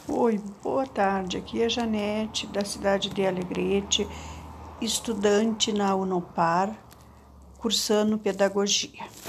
Oi, boa tarde. Aqui é a Janete, da cidade de Alegrete, estudante na Unopar, cursando pedagogia.